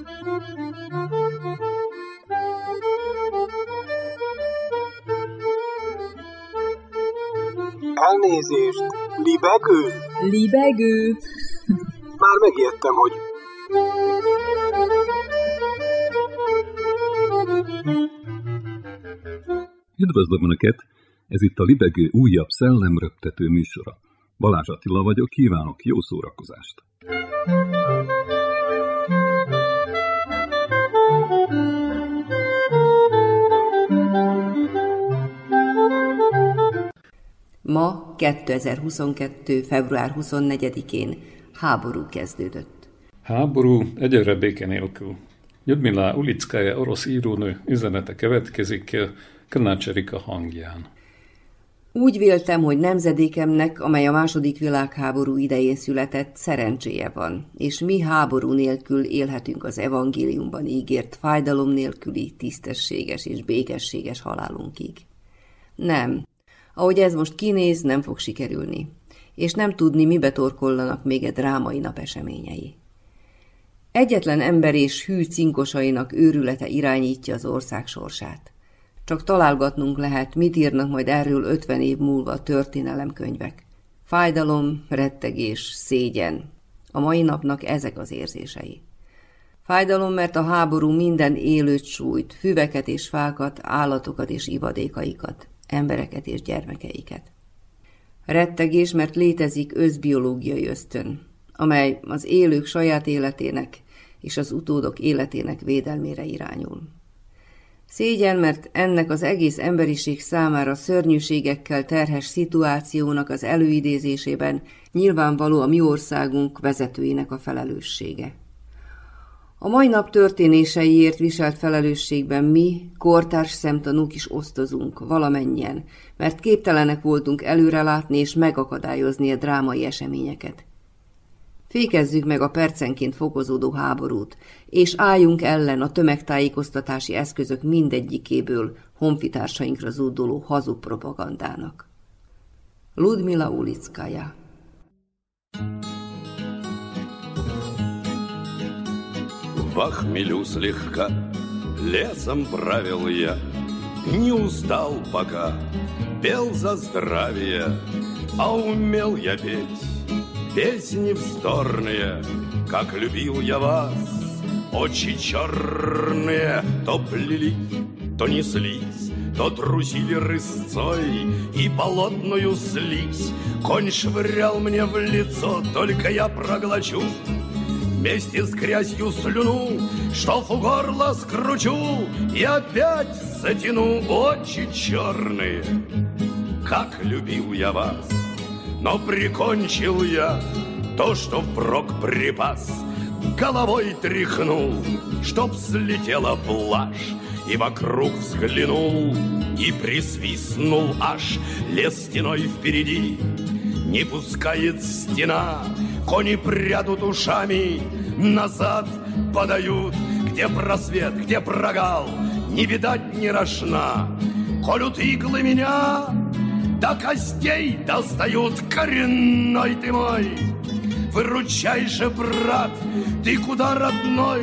Elnézést! Libegő? Libegő? Már megijedtem, hogy... Üdvözlöm Önöket! Ez itt a Libegő újabb szellemröptető műsora. Balázs Attila vagyok, kívánok jó szórakozást! Ma, 2022. február 24-én háború kezdődött. Háború egyre béke nélkül. Ljudmila Ulickaja orosz írónő üzenete következik Krnács Erika hangján. Úgy véltem, hogy nemzedékemnek, amely a II. Világháború idején született, szerencséje van, és mi háború nélkül élhetünk az evangéliumban ígért fájdalom nélküli, tisztességes és békességes halálunkig. Nem. Ahogy ez most kinéz, nem fog sikerülni, és nem tudni, mibe torkollanak még egy drámai nap eseményei. Egyetlen ember és hű cinkosainak őrülete irányítja az ország sorsát. Csak találgatnunk lehet, mit írnak majd erről 50 év múlva a történelemkönyvek. Fájdalom, rettegés, szégyen. A mai napnak ezek az érzései. Fájdalom, mert a háború minden élőt sújt, füveket és fákat, állatokat és ivadékaikat, embereket és gyermekeiket. Rettegés, mert létezik összbiológiai ösztön, amely az élők saját életének és az utódok életének védelmére irányul. Szégyen, mert ennek az egész emberiség számára szörnyűségekkel terhes szituációnak az előidézésében nyilvánvaló a mi országunk vezetőinek a felelőssége. A mai nap történéseiért viselt felelősségben mi, kortárs szemtanúk is osztozunk, valamennyien, mert képtelenek voltunk előrelátni és megakadályozni a drámai eseményeket. Fékezzük meg a percenként fokozódó háborút, és álljunk ellen a tömegtájékoztatási eszközök mindegyikéből honfitársainkra zúduló hazug propagandának. Ljudmila Ulickaja. В хмелю слегка лесом правил я, не устал пока, пел за здравие, а умел я петь песни вздорные, как любил я вас, очи черные, то плели, то неслись, то трусили рысцой и болотную слизь. Конь швырял мне в лицо, только я проглочу вместе с грязью слюну, штофу горло скручу и опять затяну. Очи черные, как любил я вас, но прикончил я то, что впрок припас. Головой тряхнул, чтоб слетела плашь, и вокруг взглянул, и присвистнул аж. Лес стеной впереди, не пускает стена, кони прядут ушами, назад подают. Где просвет, где прогал, не видать ни рожна. Колют иглы меня, до костей достают. Коренной ты мой, выручай же, брат, ты куда, родной?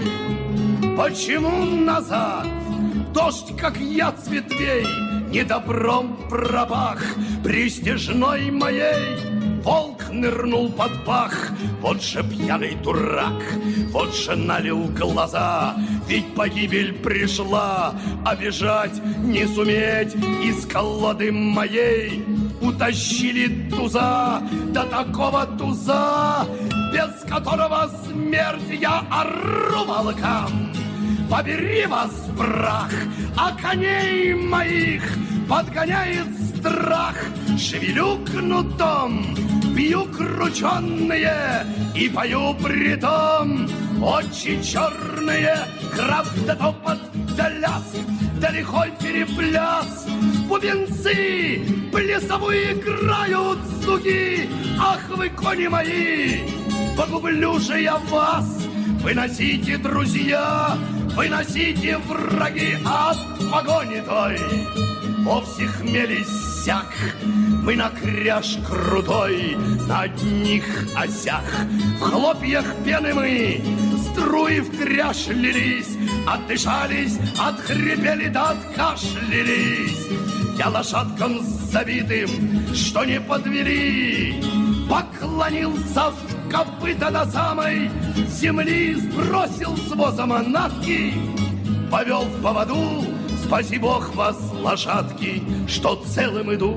Почему назад? Дождь, как яд с ветвей, недобром пропах престижной моей. Волк нырнул под пах, вот же пьяный дурак, вот же налил глаза, ведь погибель пришла, а бежать не суметь из колоды моей. Утащили туза, до такого туза, без которого смерть. Я ору волкам: побери вас прах, а коней моих подгоняет страх. Шевелю кнутом, бью крученные и пою притом. Очи черные, краб да топот да ляск, да лихой перепляс. Бубенцы плясовые играют звуки. Ах вы, кони мои, погублю же я вас. Выносите, друзья, выносите, враги, от погони той. Вовсе хмель иссяк, мы на кряж крутой, на одних осях. В хлопьях пены мы, струи в кряж лились, отдышались, отхрипели да откашлялись. Я лошадкам забитым, что не подвели, поклонился в копыта до самой земли, сбросил с воза манатки, повел в поводу. Спаси Бог вас, lásátki, что целым иду.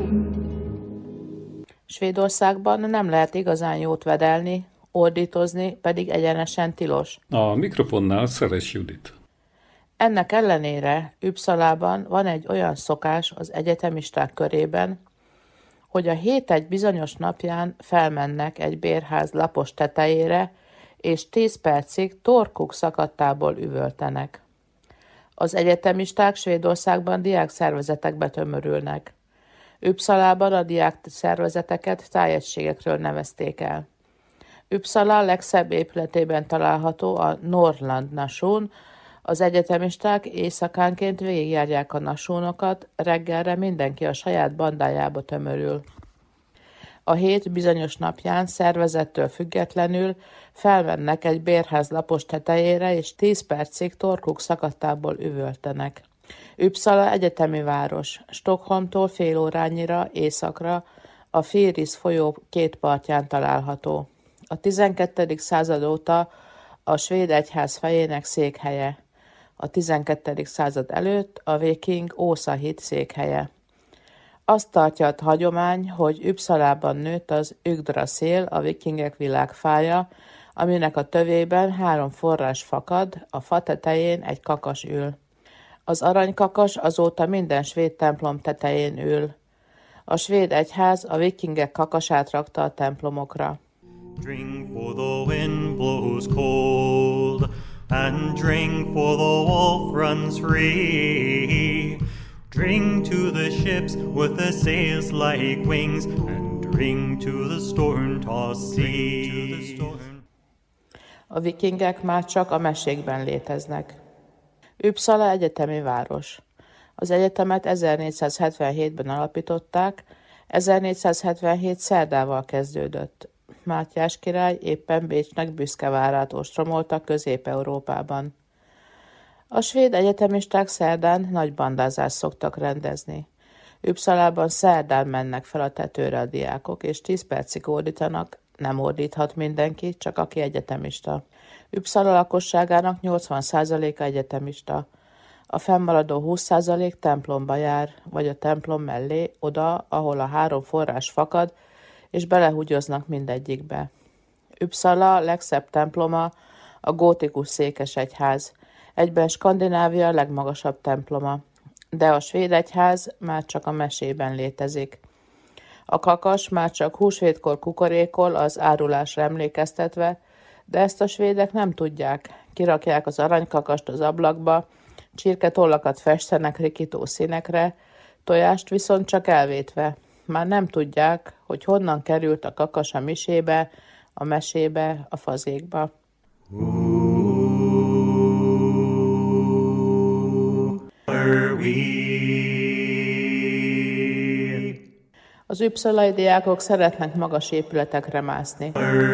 Svédországban nem lehet igazán jót vedelni, ordítozni pedig egyenesen tilos. A mikrofonnál Szeres Judit. Ennek ellenére Uppsalában van egy olyan szokás az egyetemisták körében, hogy a hét egy bizonyos napján felmennek egy bérház lapos tetejére, és 10 percig torkuk szakadtából üvöltenek. Az egyetemisták Svédországban diákszervezetekbe tömörülnek. Uppsalában a diákszervezeteket tájegységekről nevezték el. Uppsala legszebb épületében található a Norrland Nation. Az egyetemisták éjszakánként végigjárják a nasónokat, reggelre mindenki a saját bandájába tömörül. A hét bizonyos napján szervezettől függetlenül felmennek egy bérház lapos tetejére, és 10 percig torkuk szakadtából üvöltenek. Uppsala egyetemi város, Stockholmtól fél órányira északra a Firis folyó két partján található. A 12. század óta a svéd egyház fejének székhelye. A 12. század előtt a viking Ósa hit székhelye. Azt tartja a hagyomány, hogy Uppsalában nőtt az Yggdrasil, a vikingek világfája, aminek a tövében 3 forrás fakad, a fa tetején egy kakas ül. Az aranykakas azóta minden svéd templom tetején ül. A svéd egyház a vikingek kakasát rakta a templomokra. Drink for the wind blows cold, and drink for the wolf runs free. Drink to the ships with the sails like wings, and drink to the storm-tossed sea. A vikingek már csak a mesékben léteznek. Uppsala egyetemi város. Az egyetemet 1477-ben alapították, 1477 szerdával kezdődött. Mátyás király éppen Bécsnek büszke várát ostromolta Közép-Európában. A svéd egyetemisták szerdán nagy bandázást szoktak rendezni. Uppsalában szerdán mennek fel a tetőre a diákok, és 10 percig ordítanak, nem ordíthat mindenki, csak aki egyetemista. Uppsala lakosságának 80%-a egyetemista. A fennmaradó 20% templomba jár, vagy a templom mellé, oda, ahol a 3 forrás fakad, és belehúgyoznak mindegyikbe. Uppsala legszebb temploma a gótikus székesegyház, egyben Skandinávia legmagasabb temploma, de a svéd egyház már csak a mesében létezik. A kakas már csak húsvétkor kukorékol az árulásra emlékeztetve, de ezt a svédek nem tudják. Kirakják az aranykakast az ablakba, csirketollakat festenek rikító színekre, tojást viszont csak elvétve. Már nem tudják, hogy honnan került a kakas a misébe, a mesébe, a fazékba. Az uppsalai diákok szeretnek magas épületekre mászni.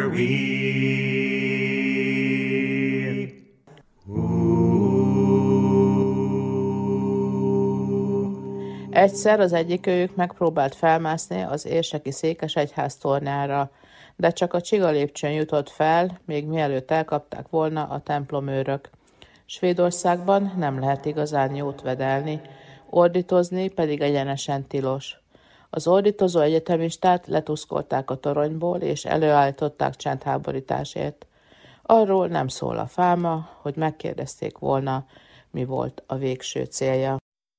Egyszer az egyikőjük megpróbált felmászni az érseki székesegyház tornyára, de csak a csigalépcsőn jutott fel, még mielőtt elkapták volna a templomőrök. Svédországban nem lehet igazán jót vedelni, ordítozni pedig egyenesen tilos. Az ordítozó egyetemistát letuszkolták a toronyból, és előállították csendháborításért. Arról nem szól a fáma, hogy megkérdezték volna, mi volt a végső célja.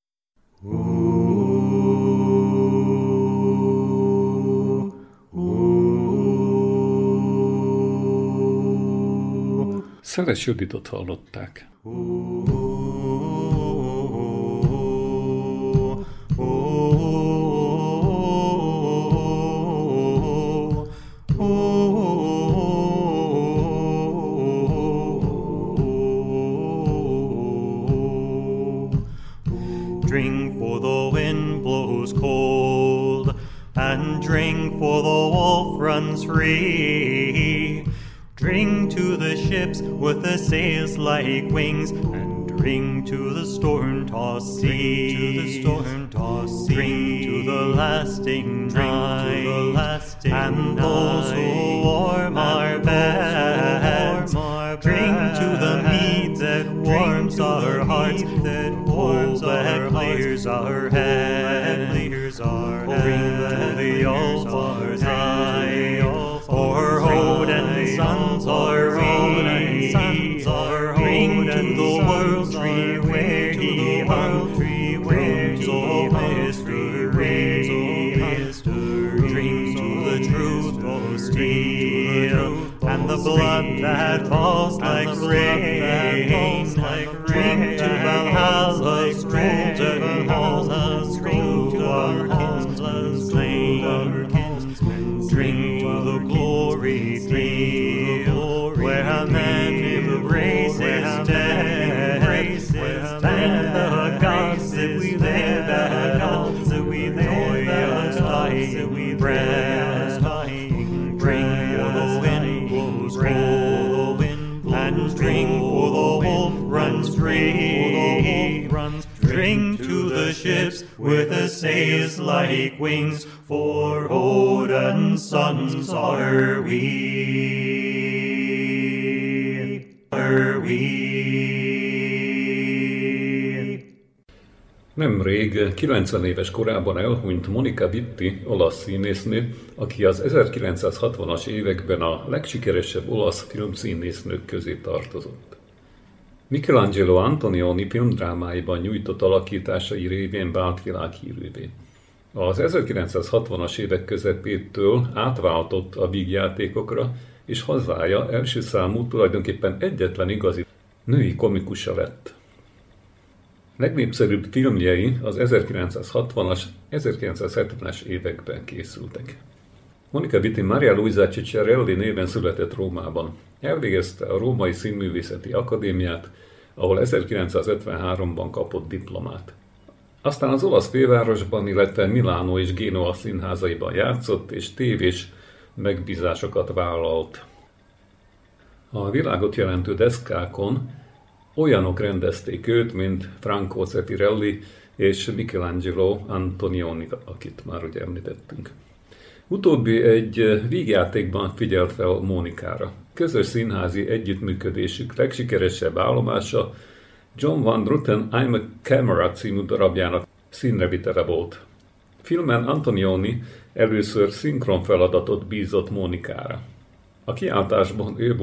Szeres Juditot hallották. Drink for the wind blows cold, and drink for the wolf runs free. Drink to the ships with the sails like wings, and drink to the storm-tossed seas. Drink to the storm-tossed seas. Drink to the lasting night, and those who warm our beds. Drink to the mead that warms our hearts, that warms our clears our head. Drink to the altars high, for Odin's sons are we. Drink to the world tree where he hung, rooms of history. Drink to the truth of steel, and the blood that falls like rain. Drink to Valhalla's golden halls, drink to our kinsmen slain. Drink to the glory field, where a man embraces death. Thank the gods that we live, the gods that we live, joyous dying breath. Drink for the wind blows cold, and drink for the wolf runs free. Drink to the ships with the sails like wings, for Odin's sons are we. Nemrég 90 éves korában elhunyt Monica Vitti, olasz színésznő, aki az 1960-as években a legsikeresebb olasz filmszínésznők közé tartozott. Michelangelo Antonioni filmdrámáiban nyújtott alakításai révén vált világhírűvé. Az 1960-as évek közepétől átváltott a vígjátékokra, és hazája első számú, tulajdonképpen egyetlen igazi női komikusa lett. Legnépszerűbb filmjei az 1960-as, 1970-es években készültek. Monica Vitti Maria Luisa Ciccarelli néven született Rómában. Elvégezte a Római Színművészeti Akadémiát, ahol 1953-ban kapott diplomát. Aztán az olasz fővárosban, illetve Milánó és Génova színházaiban játszott, és tévés megbízásokat vállalt. A világot jelentő deszkákon olyanok rendezték őt, mint Franco Zeffirelli és Michelangelo Antonioni, akit már ugye említettünk. Utóbbi egy vígjátékban figyelt fel Monikára. Közös színházi együttműködésük legsikeresebb állomása John Van Druten I'm a Camera című darabjának színrevitele volt. Filmen Antonioni először szinkron feladatot bízott Monikára. A kiáltásban ő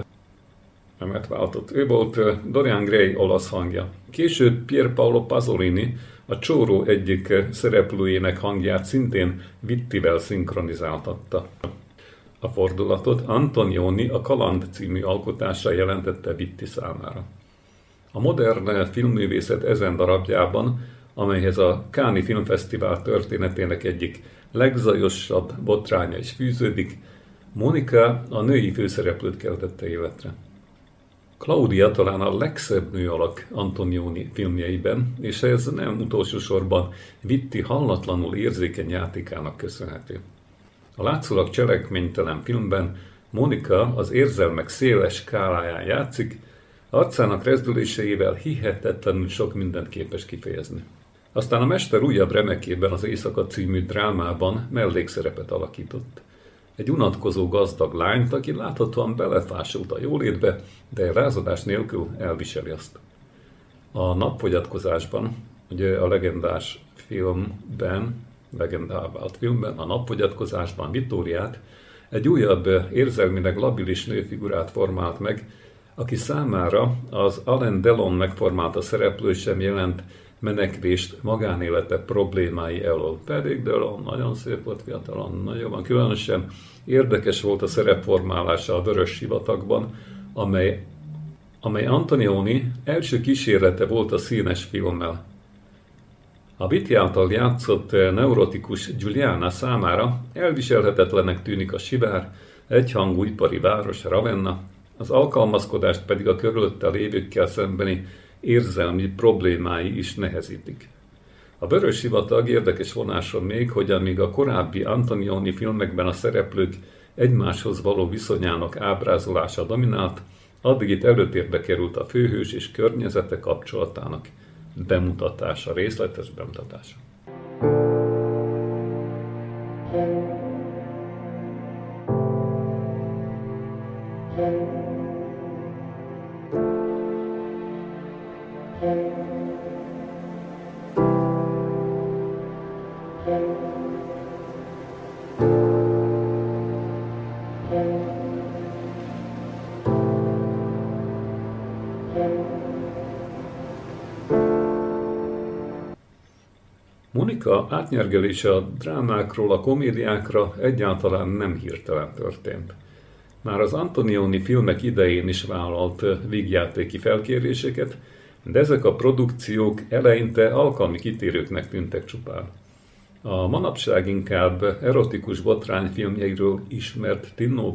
volt Dorian Gray olasz hangja. Később Pier Paolo Pasolini, a Csóró egyik szereplőjének hangját szintén Vittivel szinkronizáltatta. A fordulatot Antonioni a Kaland című alkotása jelentette Vitti számára. A modern filmművészet ezen darabjában, amelyhez a Cannes Filmfesztivál történetének egyik legzajosabb botránya is fűződik, Monica a női főszereplőt keltette életre. Claudia talán a legszebb nőalak Antonioni filmjeiben, és ez nem utolsó sorban Vitti hallatlanul érzékeny játékának köszönhető. A látszólag cselekménytelen filmben Monica az érzelmek széles skáláján játszik, arcának rezdüléseivel hihetetlenül sok mindent képes kifejezni. Aztán a mester újabb remekében, az Éjszaka című drámában mellékszerepet alakított. Egy unatkozó gazdag lányt, aki láthatóan belefásult a jólétbe, de rázadás nélkül elviseli azt. A Napfogyatkozásban, ugye a legendás filmben, legendává vált filmben, a Napfogyatkozásban Vittóriát, egy újabb érzelmileg labilis nőfigurát formált meg, aki számára az Alain Delon megformálta szereplő sem jelent menekvést magánélete problémái elől. Pedig Delon nagyon szép volt fiatalon, nagyon különösen érdekes volt a szerepformálása a Vörös sivatagban, amely Antonioni első kísérlete volt a színes filmmel. A Vitti által játszott neurotikus Giuliana számára elviselhetetlennek tűnik a sivár, egyhangú ipari város Ravenna, az alkalmazkodást pedig a körülötte lévőkkel szembeni érzelmi problémái is nehezítik. A Vörös sivatag érdekes vonása még, hogy amíg a korábbi Antonioni filmekben a szereplők egymáshoz való viszonyának ábrázolása dominált, addig itt előtérbe került a főhős és környezete kapcsolatának bemutatása, részletes bemutatása. Monika átnyergelése a drámákról a komédiákra egyáltalán nem hirtelen történt. Már az Antonioni filmek idején is vállalt vígjátéki felkéréseket, de ezek a produkciók eleinte alkalmi kitérőknek tűntek csupán. A manapság inkább erotikus botrányfilmjeiről ismert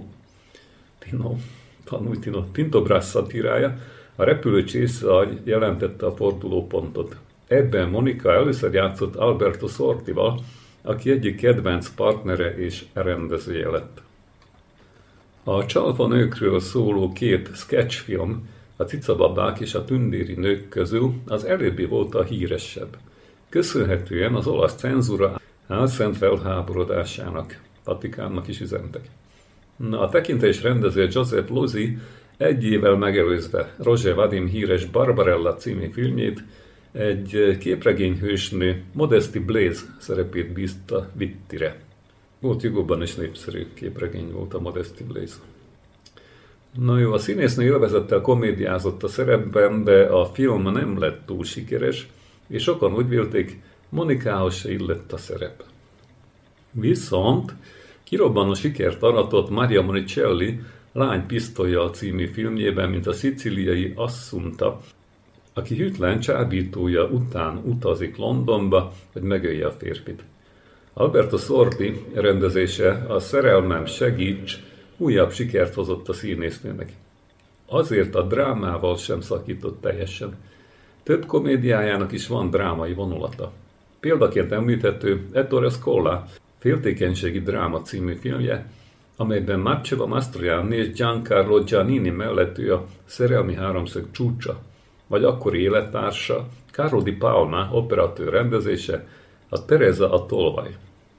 Tinto Brass szatírája, a repülő csészaj jelentette a fordulópontot. Ebben Monika először játszott Alberto Sortival, aki egyik kedvenc partnere és rendezője lett. A csalfa nőkről szóló két sketchfilm, a Cicababák és a Tündéri nők közül az előbbi volt a híresebb, köszönhetően az olasz cenzúra álszent felháborodásának, Vatikánnak is üzentek. A tekintés rendező Giuseppe Lozzi egy évvel megelőzve Roger Vadim híres Barbarella című filmjét egy képregényhősnő, Modesty Blaise szerepét bízta Vittire. Volt Jugóban is népszerű képregény volt a Modesty Blaise. Na jó, a színésznő élvezettel komédiázott a szerepben, de a film nem lett túl sikeres, és sokan úgy vélték, Monikához se illett a szerep. Viszont kirobbanó sikert aratott Maria Monicelli Lány pisztollyal című filmjében, mint a szicíliai Assunta, aki hűtlen csábítója után utazik Londonba, hogy megölje a férfit. Alberto Sordi rendezése, a Szerelmem segíts, újabb sikert hozott a színésznőnek. Azért a drámával sem szakított teljesen. Több komédiájának is van drámai vonulata. Példaként említhető Ettore Scola Féltékenységi dráma című filmje, amelyben Marcello Mastroianni és Giancarlo Giannini mellett ő a szerelmi háromszög csúcsa, vagy akkori élettársa, Carlo Di Palma operatőr rendezése, a Teresa a tolvaj.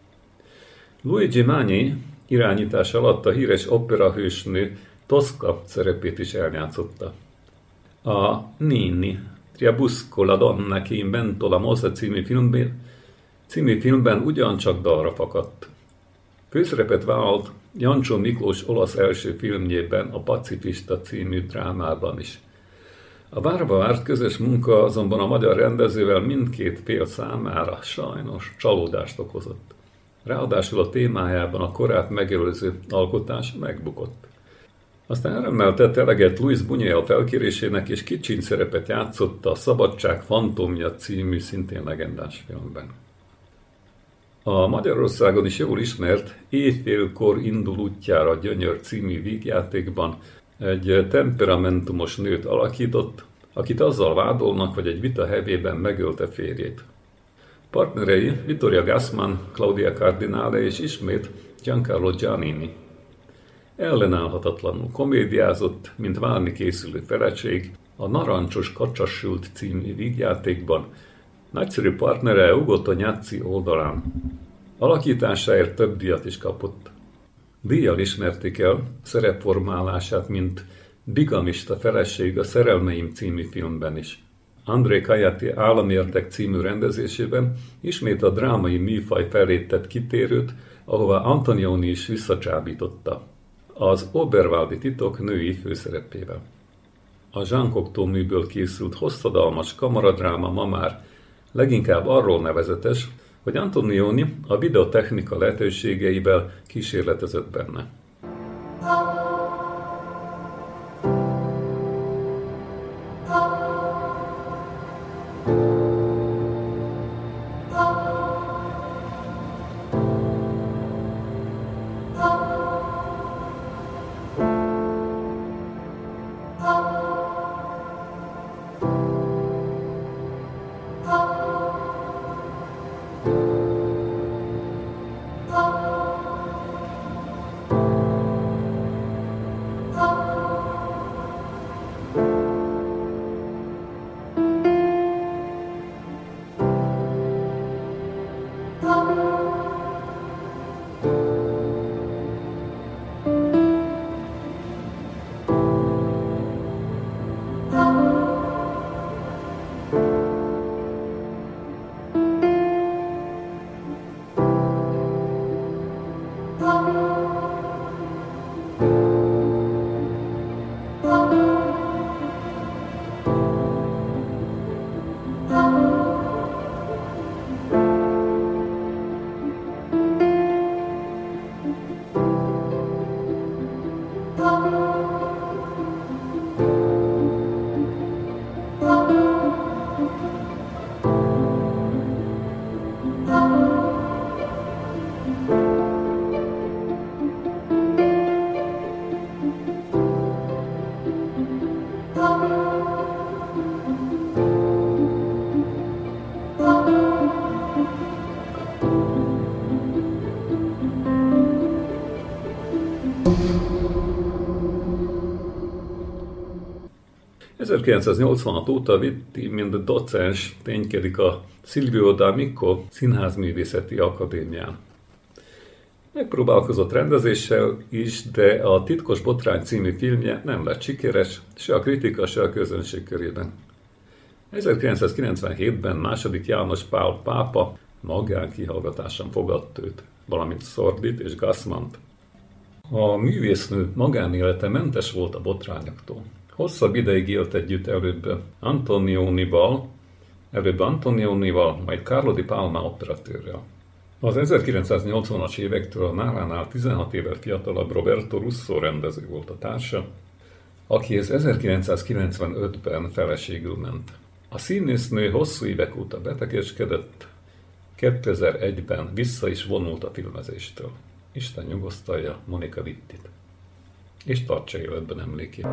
Luigi Magni irányítás alatt a híres operahősnő Tosca szerepét is eljátszotta. A Nini, Triabusco la donna che inventò la mossa című filmben ugyancsak dalra fakadt. Főszerepet vállalt Jancsó Miklós olasz első filmjében, a Pacifista című drámában is. A várva várt közös munka azonban a magyar rendezővel mindkét fél számára sajnos csalódást okozott. Ráadásul a témájában a korát megelőző alkotás megbukott. Aztán örömmel tett eleget Luis Buñuel felkérésének, és kicsiny szerepet játszott a Szabadság fantomja című szintén legendás filmben. A Magyarországon is jól ismert Éjfélkor indul útjára Gyönyör című vígjátékban egy temperamentumos nőt alakított, akit azzal vádolnak, hogy egy vita hevében megölte férjét. Partnerei Vittoria Gassman, Claudia Cardinale és ismét Giancarlo Giannini. Ellenállhatatlanul komédiázott, mint válni készülő feleség, a Narancsos Kacsasült című vígjátékban, nagyszerű partnere Ugo Tognazzi oldalán. Alakításáért több díjat is kapott. Díjjal ismerték el szerepformálását, mint bigamista feleség a Szerelmeim című filmben is. André Kajati Államérdek című rendezésében ismét a drámai műfaj felé tett kitérőt, ahová Antonioni is visszacsábította. Az Oberwaldi titok női főszerepével. A Jean Cocteau műből készült hosszadalmas kamaradráma ma már leginkább arról nevezetes, hogy Antonioni a videotechnika lehetőségeivel kísérletezett benne. 1986 óta Vitti, mint docens ténykedik a Silvio D'Amico Színházművészeti Akadémián. Megpróbálkozott rendezéssel is, de a Titkos Botrány című filmje nem lett sikeres, se a kritika, se a közönség körében. 1997-ben II. János Pál pápa magánkihallgatáson fogadta őt, valamint Szordit és Gassmant. A művésznő magánélete mentes volt a botrányoktól. Hosszabb ideig élt együtt előbb Antonionival, majd Carlo di Palma operatőrrel. Az 1980-as évektől a nálánál 16 évvel fiatalabb Roberto Russo rendező volt a társa, akihez 1995-ben feleségül ment. A színésznő hosszú évek óta betegeskedett, 2001-ben vissza is vonult a filmezéstől. Isten nyugosztalja Monica Vittit, és tartsa életben emlékét.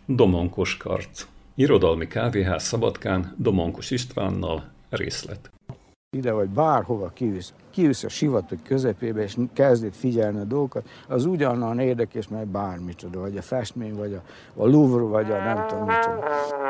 Domonkos karc. Irodalmi kávéház Szabadkán, Domonkos Istvánnal, részlet. Ide vagy bárhova kivisz a sivatag közepébe, és kezd itt figyelni a dolgokat, az ugyanolyan érdekes, mert bármicsoda, vagy a festmény, vagy a Louvre, vagy a nem tudom micsoda.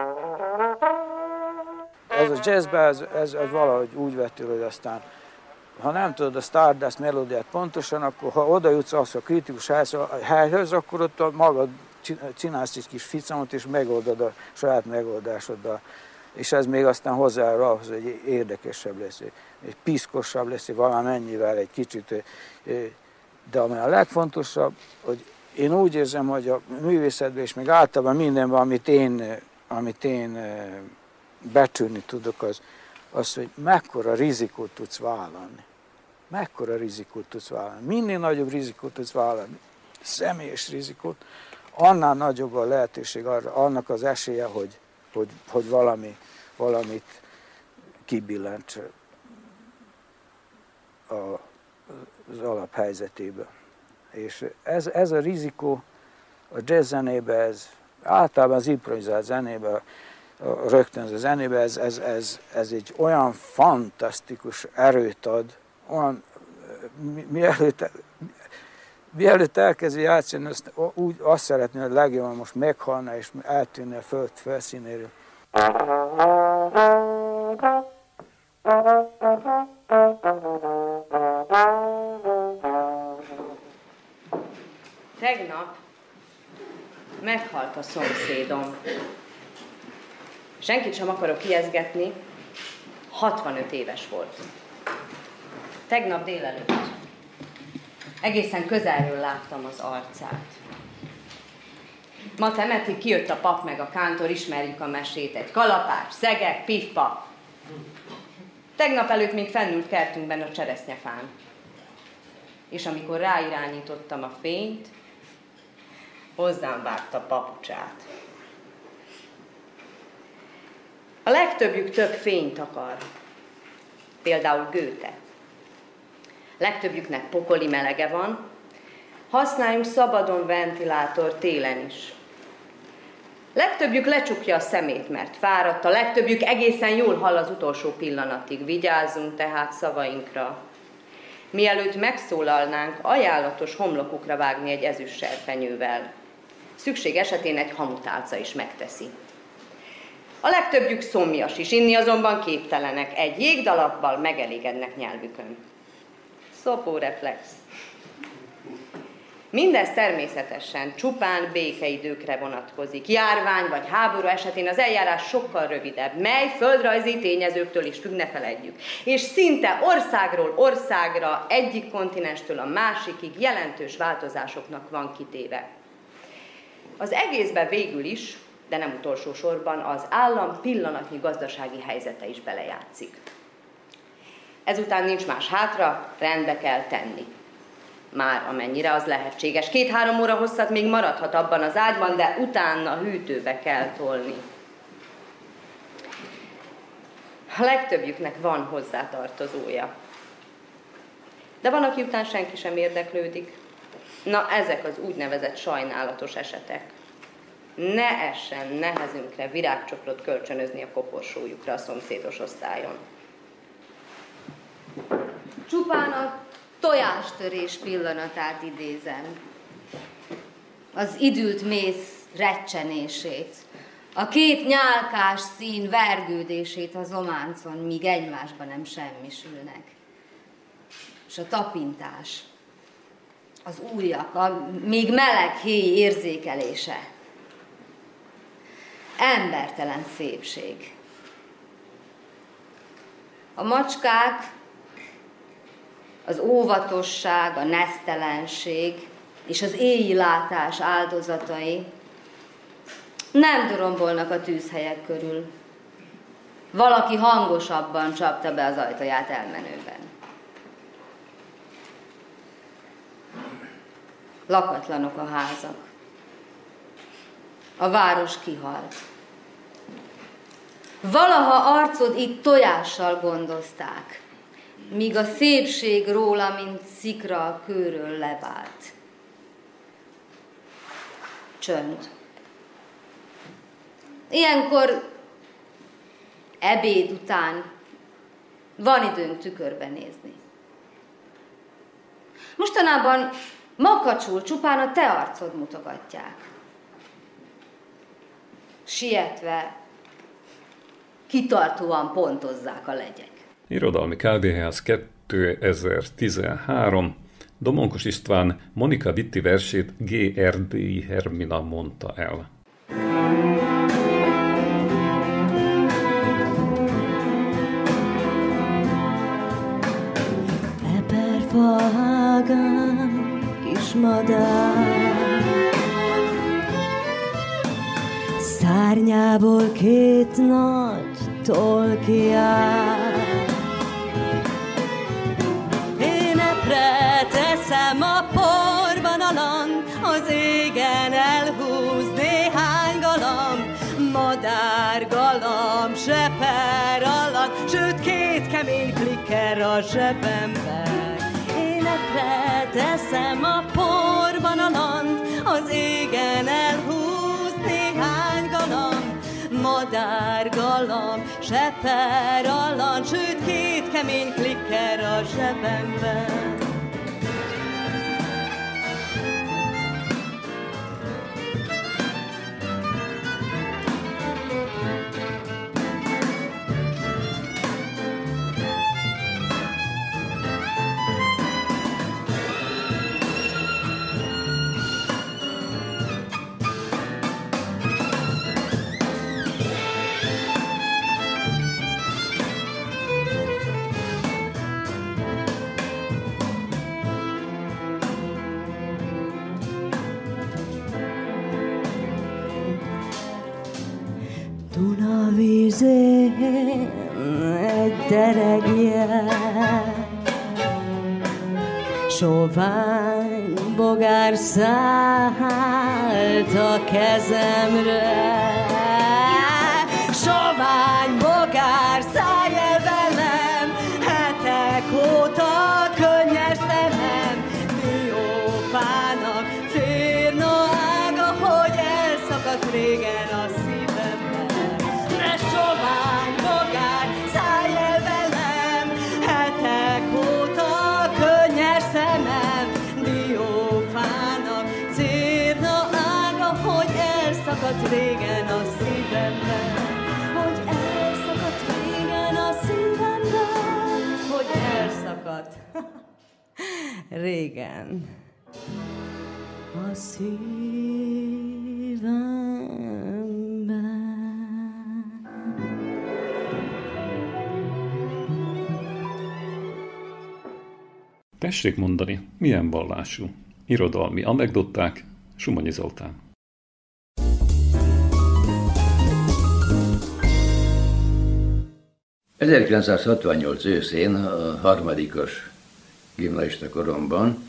Ez a jazzben, ez valahogy úgy vetül, hogy aztán, ha nem tudod a Stardust melódiát pontosan, akkor ha oda jutsz az a kritikus helyhöz, akkor ott magad csinálsz egy kis ficamot, és megoldod a saját megoldásoddal. És ez még aztán hozzájárul ahhoz, hogy érdekesebb lesz, egy piszkosabb lesz, valamennyivel egy kicsit. De ami a legfontosabb, hogy én úgy érzem, hogy a művészetben és még általában mindenben, amit én becsülni tudok, az, hogy mekkora rizikót tudsz vállalni. Mekkora rizikót tudsz vállalni. Minél nagyobb rizikót tudsz vállalni, személyes rizikót, annál nagyobb a lehetőség arra, annak az esélye, hogy valamit kibillents az alaphelyzetéből. És ez a rizikó a jazz zenében, ez általában az improvizált zenében, a rögtönző zenében, ez egy olyan fantasztikus erőt ad, olyan, mielőtt elkezdi játszani, azt szeretném, hogy legjobban most meghalna és eltűnne a föld felszínéről. Tegnap meghalt a szomszédom. Senkit sem akarok ijesztgetni, 65 éves volt. Tegnap délelőtt. Egészen közelről láttam az arcát. Ma temetik, kijött a pap meg a kántor, ismerjük a mesét, egy kalapás, szegek, pif-pap. Tegnap előtt még fennült kertünkben a cseresznyefán. És amikor ráirányítottam a fényt, hozzám vágta papucsát. A legtöbbjük több fényt akar. Például Goethe. Legtöbbjüknek pokoli melege van, használjunk szabadon ventilátor télen is. Legtöbbjük lecsukja a szemét, mert fáradt, a legtöbbjük egészen jól hall az utolsó pillanatig. Vigyázzunk tehát szavainkra. Mielőtt megszólalnánk, ajánlatos homlokukra vágni egy ezüst serpenyővel. Szükség esetén egy hamutálca is megteszi. A legtöbbjük szomjas is, inni azonban képtelenek, egy jégdalappal megelégednek nyelvükön. Szopóreflex. Mindez természetesen csupán békeidőkre vonatkozik. Járvány vagy háború esetén az eljárás sokkal rövidebb, mely földrajzi tényezőktől is függ, ne feledjük. És szinte országról országra, egyik kontinenstől a másikig jelentős változásoknak van kitéve. Az egészben végül is, de nem utolsó sorban, az állam pillanatnyi gazdasági helyzete is belejátszik. Ezután nincs más hátra, rendbe kell tenni. Már amennyire az lehetséges. 2-3 óra hosszat még maradhat abban az ágyban, de utána hűtőbe kell tolni. A legtöbbjüknek van hozzátartozója. De van, aki után senki sem érdeklődik. Na, ezek az úgynevezett sajnálatos esetek. Ne essen nehezünkre virágcsokrot kölcsönözni a koporsójukra a szomszédos osztályon. Csupán a tojástörés pillanatát idézem. Az idült méz recsenését, a két nyálkás szín vergődését a zománcon, míg egymásba nem semmisülnek. És a tapintás, az ujjak, a még meleg héj érzékelése. Embertelen szépség. A macskák, az óvatosság, a nesztelenség és az éji látás áldozatai nem dorombolnak a tűzhelyek körül. Valaki hangosabban csapta be az ajtaját elmenőben. Lakatlanok a házak. A város kihalt. Valaha arcod itt tojással gondozták, míg a szépség róla, mint szikra a kőről levált. Csönd. Ilyenkor ebéd után van időnk tükörbe nézni. Mostanában makacsul csupán a te arcod mutogatják. Sietve, kitartóan pontozzák a legyek. Irodalmi kávéház 2013. Domonkos István Monika Vitti versét G.R.D. Hermina mondta el. Eperfaágán kis madár, szárnyából két nagy toll kiáll. Énepre teszem a porban a land, az égen elhúz néhány galamb, madárgalamb seper alatt, sőt két kemény klikker a zsebemben. Énepre teszem a porban a land, az égen elhúz néhány galamb, madárgalamb seper alatt, sőt két kemény klikker a zsebemben. Dunavízén egy deregje, sovány bogár szállt a kezemre. Sovány bogár, szállj el velem, hetek óta könnyes szemem, diófának férna ága, hogy elszakadt régen a szívemben. Sovány bogár, szállj el velem, hetek óta könnyes szemem, diófának cérna ága, hogy elszakadt régen a szívemben, hogy elszakadt régen a szívemben, hogy elszakadt régen a szívemben. Tessék mondani, milyen vallású? Irodalmi anekdották, Sumonyi Zoltán. ...1968 őszén, a harmadikos gimnazista koromban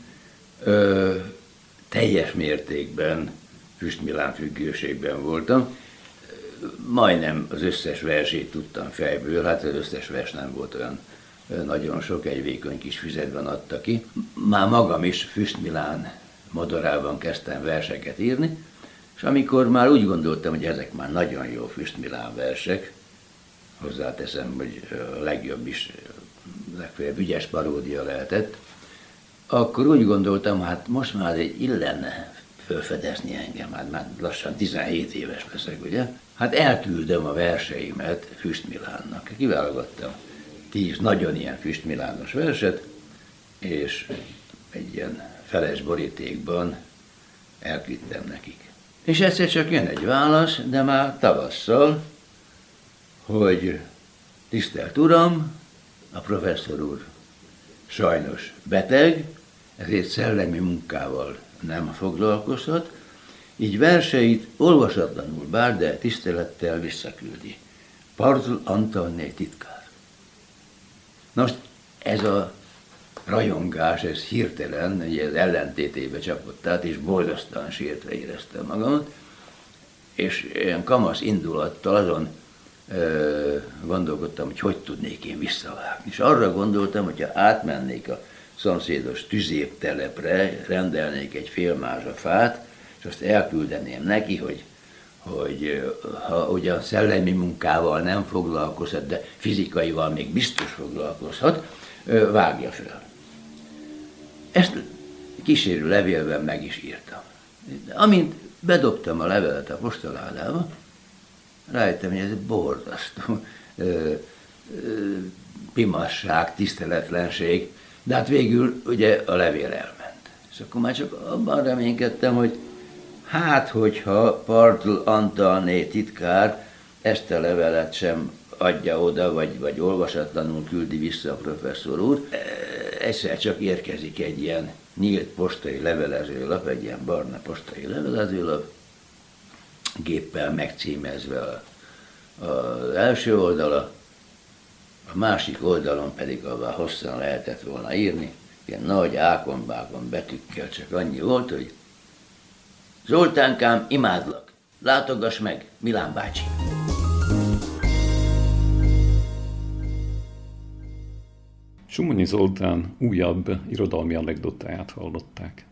teljes mértékben Füst Milán függőségben voltam. Majdnem az összes versét tudtam fejből, hát az összes vers nem volt olyan nagyon sok, egy vékony kis füzetben adta ki. Már magam is Füst Milán modorában kezdtem verseket írni, és amikor már úgy gondoltam, hogy ezek már nagyon jó Füst Milán versek, hozzáteszem, hogy a legjobb is, legfeljebb ügyes paródia lehetett, akkor úgy gondoltam, hát most már egy illene felfedezni engem, hát már lassan 17 éves leszek, ugye? Hát elküldöm a verseimet Füst Milánnak. Kiválogattam 10 nagyon ilyen Füst Milános verset, és egy ilyen feles borítékban elküldtem nekik. És egyszer csak jön egy válasz, de már tavasszal, hogy tisztelt Uram, a professzor úr sajnos beteg, ezért szellemi munkával nem foglalkozhat, így verseit olvasatlanul bár, de tisztelettel visszaküldi. Partl Antalné titkár. Most ez a rajongás, ez hirtelen, ugye az ellentétébe csapott át, és borzasztóan sírtve éreztem magamat, és ilyen kamasz indulattal azon gondolkodtam, hogy tudnék én visszavágni. És arra gondoltam, hogyha átmennék a szomszédos tüzértelepre, rendelnék egy fél mázsa fát, és azt elküldeném neki, hogy hogy ha ugyan szellemi munkával nem foglalkozhat, de fizikaival még biztos foglalkozhat, vágja fel. Ezt kísérő levélben meg is írtam. Amint bedobtam a levelet a postaládába, rájöttem, hogy ez borzasztó pimasság, tiszteletlenség, de hát végül ugye a levél elment. És akkor már csak abban reménykedtem, hogy hát, hogyha Partl Antalné titkár ezt a levelet sem adja oda, vagy olvasatlanul küldi vissza a professzor úr, egyszer csak érkezik egy ilyen nyílt postai levelezőlap, egy ilyen barna postai levelezőlap, géppel megcímezve az első oldala, a másik oldalon pedig, ahová hosszan lehetett volna írni, ilyen nagy ákonbákon betűkkel csak annyi volt, hogy Zoltánkám, imádlak, látogass meg, Milán bácsi. Somonyi Zoltán újabb irodalmi anekdotáját hallották.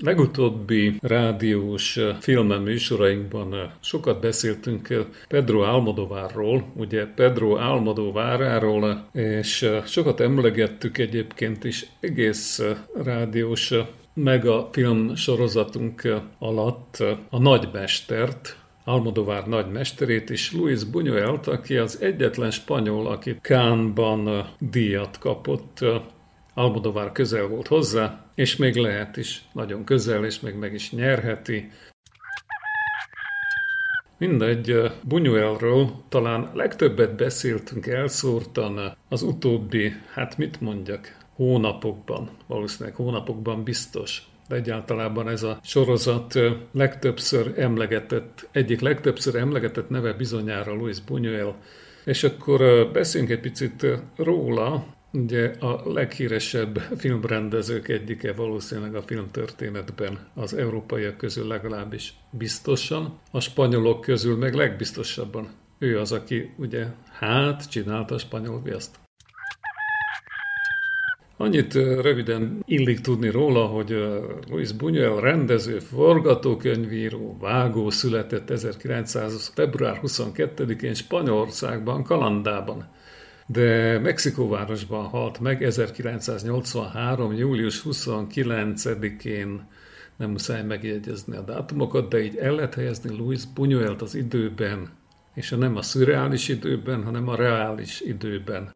Legutóbbi rádiós filmműsorainkban sokat beszéltünk Pedro Almodóvarról, ugye Pedro Almodóváráról, és sokat emlegettük egyébként is egész rádiós megafilm sorozatunk alatt a nagymestert, Almodóvar nagymesterét és Luis Buñuelt, aki az egyetlen spanyol, aki Cannes-ban díjat kapott. Almodóvar közel volt hozzá, és még lehet is nagyon közel, és még meg is nyerheti. Mindegy, Buñuelről talán legtöbbet beszéltünk elszórtan az utóbbi, hát mit mondjak, hónapokban, valószínűleg hónapokban biztos. De egyáltalában ez a sorozat egyik legtöbbször emlegetett neve bizonyára Luis Buñuel. És akkor beszéljünk egy picit róla. Ugye a leghíresebb filmrendezők egyike valószínűleg a filmtörténetben, az európaiak közül legalábbis biztosan, a spanyolok közül meg legbiztosabban. Ő az, aki ugye csinálta a spanyol viaszt. Annyit röviden illik tudni róla, hogy Luis Buñuel rendező, forgatókönyvíró, vágó született 1900. február 22-én Spanyolországban, Kalandában. De Mexikóvárosban halt meg 1983. július 29-én, nem muszáj megjegyezni a dátumokat, de így el lehet helyezni Luis Buñuelt az időben, és nem a szürreális időben, hanem a reális időben.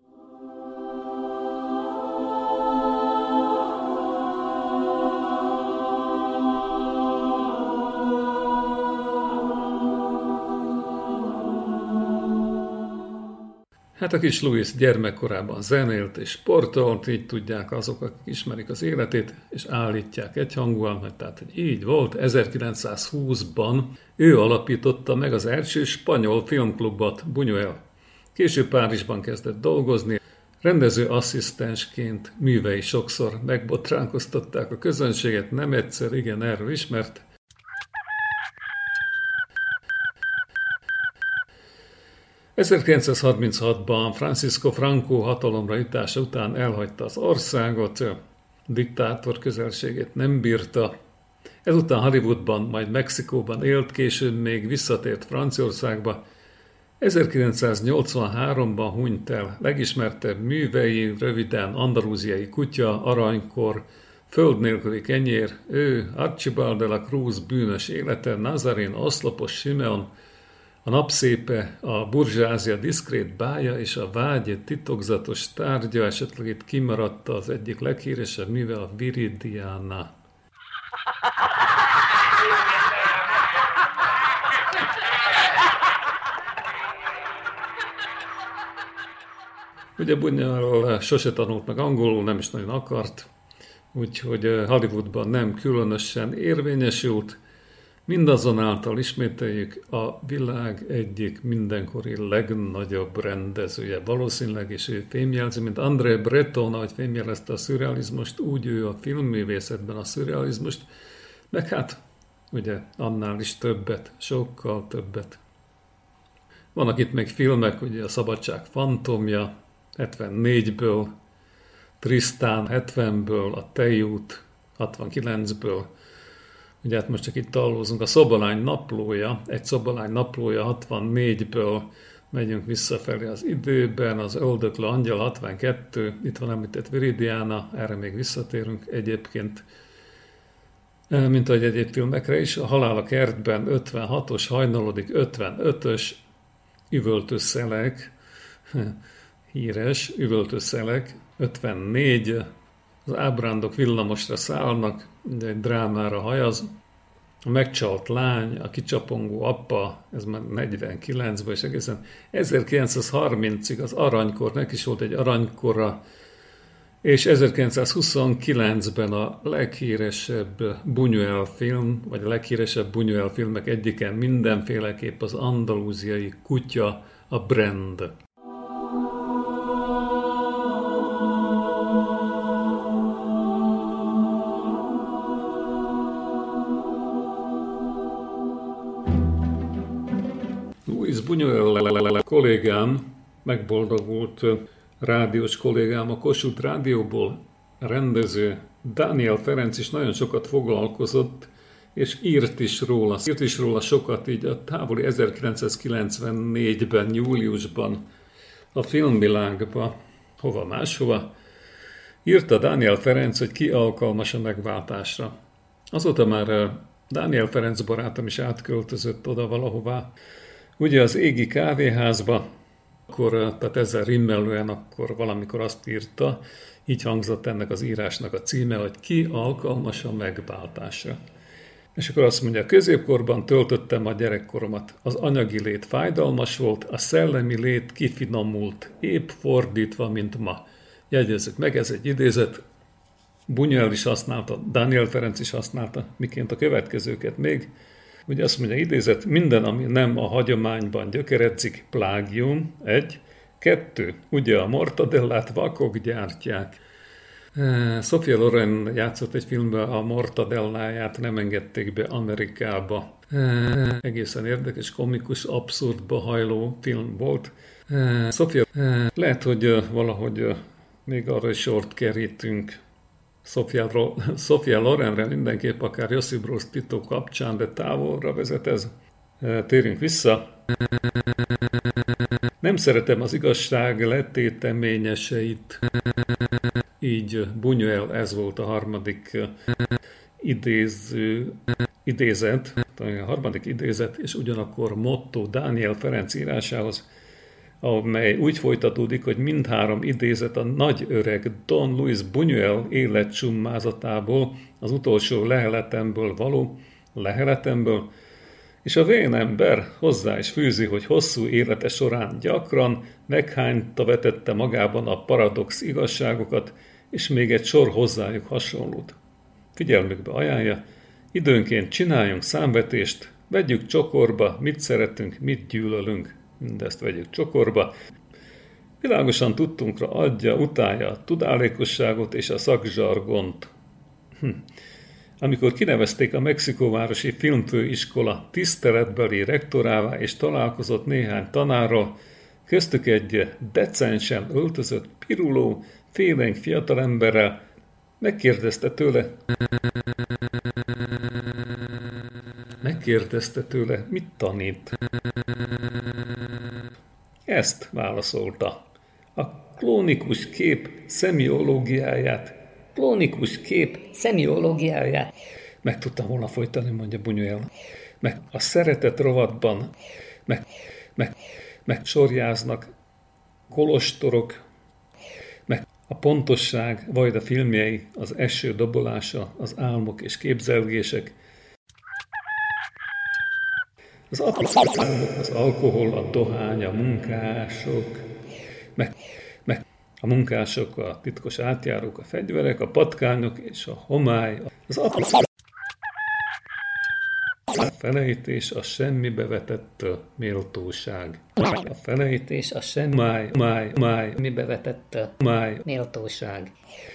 Hát a kis Luis gyermekkorában zenélt és sportolt, így tudják azok, akik ismerik az életét, és állítják egyhangúan, hogy így volt. 1920-ban ő alapította meg az első spanyol filmklubot, Buñuel. Később Párizsban kezdett dolgozni, rendező asszisztensként művei sokszor megbotránkoztatták a közönséget, nem egyszer, igen, erről ismert. ...1936-ban Francisco Franco hatalomra jutása után elhagyta az országot, diktátor közelségét nem bírta. Ezután Hollywoodban, majd Mexikóban élt, később még visszatért Franciaországba. 1983-ban hunyt el. Legismertebb művei röviden Andalúziai kutya, Aranykor, Föld nélküli kenyér, ő, Archibald de la Cruz bűnös élete, Nazarén, Oszlopos Simeon, a napszépe, a burzsázia diszkrét bája és a vágy titokzatos tárgya, esetleg itt kimaradt az egyik leghíresebb műve, a Viridiana. Ugye Buñuel sose tanult meg angolul, nem is nagyon akart, úgyhogy Hollywoodban nem különösen érvényesült. Mindazonáltal ismételjük, a világ egyik mindenkori legnagyobb rendezője. Valószínűleg is ő fémjelzi, mint André Breton, ahogy fémjelezte a szürrealizmust, úgy ő a filmművészetben a szürrealizmust, meg hát ugye annál is többet, sokkal többet. Vannak itt még filmek, ugye a Szabadság fantomja 74-ből, Tristan 70-ből, a Tejút 69-ből, ugye hát most csak itt tallózunk, a Szobalány naplója, egy Szobalány naplója 64-ből, megyünk visszafelé az időben, az Öldöklő angyal 62, itt van említett Viridiana, erre még visszatérünk egyébként, mint ahogy egyéb filmekre is, a Halál a kertben 56-os, hajnalodik 55-ös, Üvöltőszelek, híres, Üvöltőszelek 54, az ábrándok villamosra szállnak, egy drámára hajaz, a megcsalt lány, a kicsapongó apa, ez már 49-ben, és egészen 1930-ig az Aranykor, neki is volt egy aranykora, és 1929-ben a leghíresebb Buñuel film, vagy a leghíresebb Buñuel filmek egyiken mindenféleképp az andalúziai kutya, a Brand. Luis Buñuel kollégám, megboldogult rádiós kollégám a Kossuth Rádióból, rendező, Dániel Ferenc is nagyon sokat foglalkozott, és írt is róla sokat, így a távoli 1994-ben, júliusban a Filmvilágba, hova máshova, írta Dániel Ferenc, hogy ki alkalmas a megváltásra. Azóta már Dániel Ferenc barátom is átköltözött oda valahová. Ugye az Égi kávéházba, akkor, tehát ezzel rimmellően akkor valamikor azt írta, így hangzott ennek az írásnak a címe, hogy ki alkalmas a megváltásra. És akkor azt mondja, középkorban töltöttem a gyerekkoromat. Az anyagi lét fájdalmas volt, a szellemi lét kifinomult, épp fordítva, mint ma. Jegyezzük meg, ez egy idézet, Buñuel is használta, Dániel Ferenc is használta, miként a következőket még. Ugye azt mondja, idézet, minden, ami nem a hagyományban gyökeredzik, plágium, 1. 2. Ugye a mortadellát vakok gyártják. Sophia Loren játszott egy filmben, a mortadelláját nem engedték be Amerikába. Egészen érdekes, komikus, abszurdba hajló film volt. Sophia, lehet, hogy valahogy még arra is sort kerítünk. Sophia Lorenre mindenképp akár Josip Broz Tito kapcsán, de távolra vezet ez. Térjünk vissza. Nem szeretem az igazság letéteményeseit. Így Buñuel, ez volt a harmadik idézet, és ugyanakkor motto Dániel Ferenc írásához, amely úgy folytatódik, hogy mindhárom idézet a nagy öreg Don Luis Buñuel életcsumázatából, az utolsó leheletemből, és a vén ember hozzá is fűzi, hogy hosszú élete során gyakran meghányta vetette magában a paradox igazságokat, és még egy sor hozzájuk hasonlót. Figyelmükbe ajánlja, időnként csináljunk számvetést, vegyük csokorba, mit szeretünk, mit gyűlölünk, mindezt vegyük csokorba. Világosan tudtunkra adja, utálja a tudálékosságot és a szakzsargont. Amikor kinevezték a Mexikóvárosi Filmfőiskola tiszteletbeli rektorává és találkozott néhány tanárral, köztük egy decensen öltözött, piruló, félénk fiatalemberrel, megkérdezte tőle, mit tanít. Ezt válaszolta. A klónikus kép szemiológiáját. Meg tudtam volna folytani, mondja Buñuel. Meg a szeretet rovatban, meg sorjáznak kolostorok, meg a pontosság, vagy a filmjei, az eső dobolása, az álmok és képzelgések, az apróságok, az alkohol, a dohány, a munkások, meg a munkások, a titkos átjárók, a fegyverek, a patkányok és a homály, az apróság, a felejtés, a semmibe vetett méltóság. A felejtés, a semmibe vetett méltóság.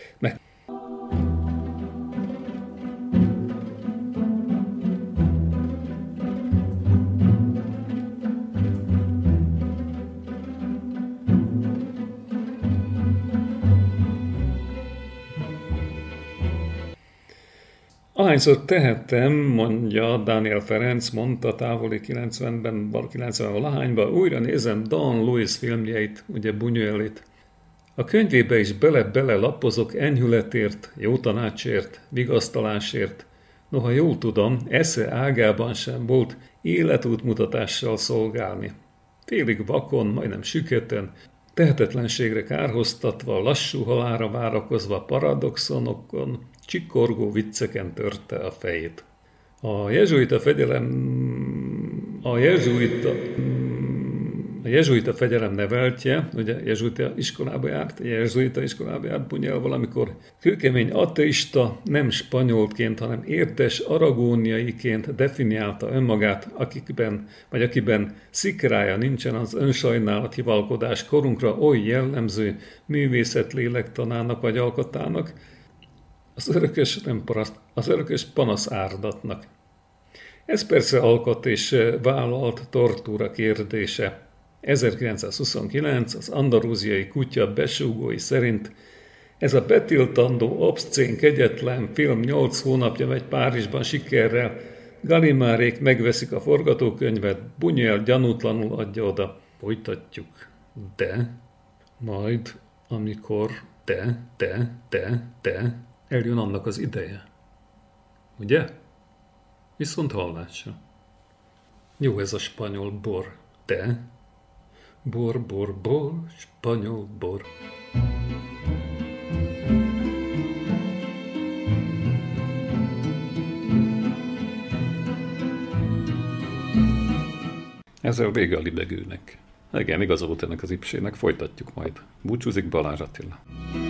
Ahányszor tehettem, mondja Dániel Ferenc, mondta távoli 90-ben, 90-valahányban, újra nézem Don Luis filmjeit, ugye Buñuelit. A könyvébe is bele-bele lapozok enyhületért, jó tanácsért, vigasztalásért. Noha jól tudom, esze ágában sem volt életútmutatással szolgálni. Félig vakon, majdnem süketen, tehetetlenségre kárhoztatva, lassú halálra várakozva paradoxonokon, csikorgó vicceken törte a fejét. A jezsuita fegyelem neveltje, ugye jezsuita iskolába járt Buñuel valamikor, kőkemény ateista, nem spanyolként, hanem érdes aragóniaiként definiálta önmagát, akiben szikrája nincsen az önsajnálat hivalkodás korunkra oly jellemző művészet lélektanának vagy alkotának, az örökös panaszárdatnak. Ez persze alkat és vállalt tortúra kérdése. 1929 az andalúziai kutya besúgói szerint Ez a betiltandó, obszcén, kegyetlen film 8 hónapja megy Párizsban sikerrel. Galimárék megveszik a forgatókönyvet, Buñuel gyanútlanul adja oda. Folytatjuk. De majd, amikor eljön annak az ideje. Ugye? Viszont hallásra. Jó ez a spanyol bor. Bor, spanyol bor. Ezzel vége a libegőnek. Igen, igaz volt ennek az ipsének, folytatjuk majd. Búcsúzik Balázs Attila.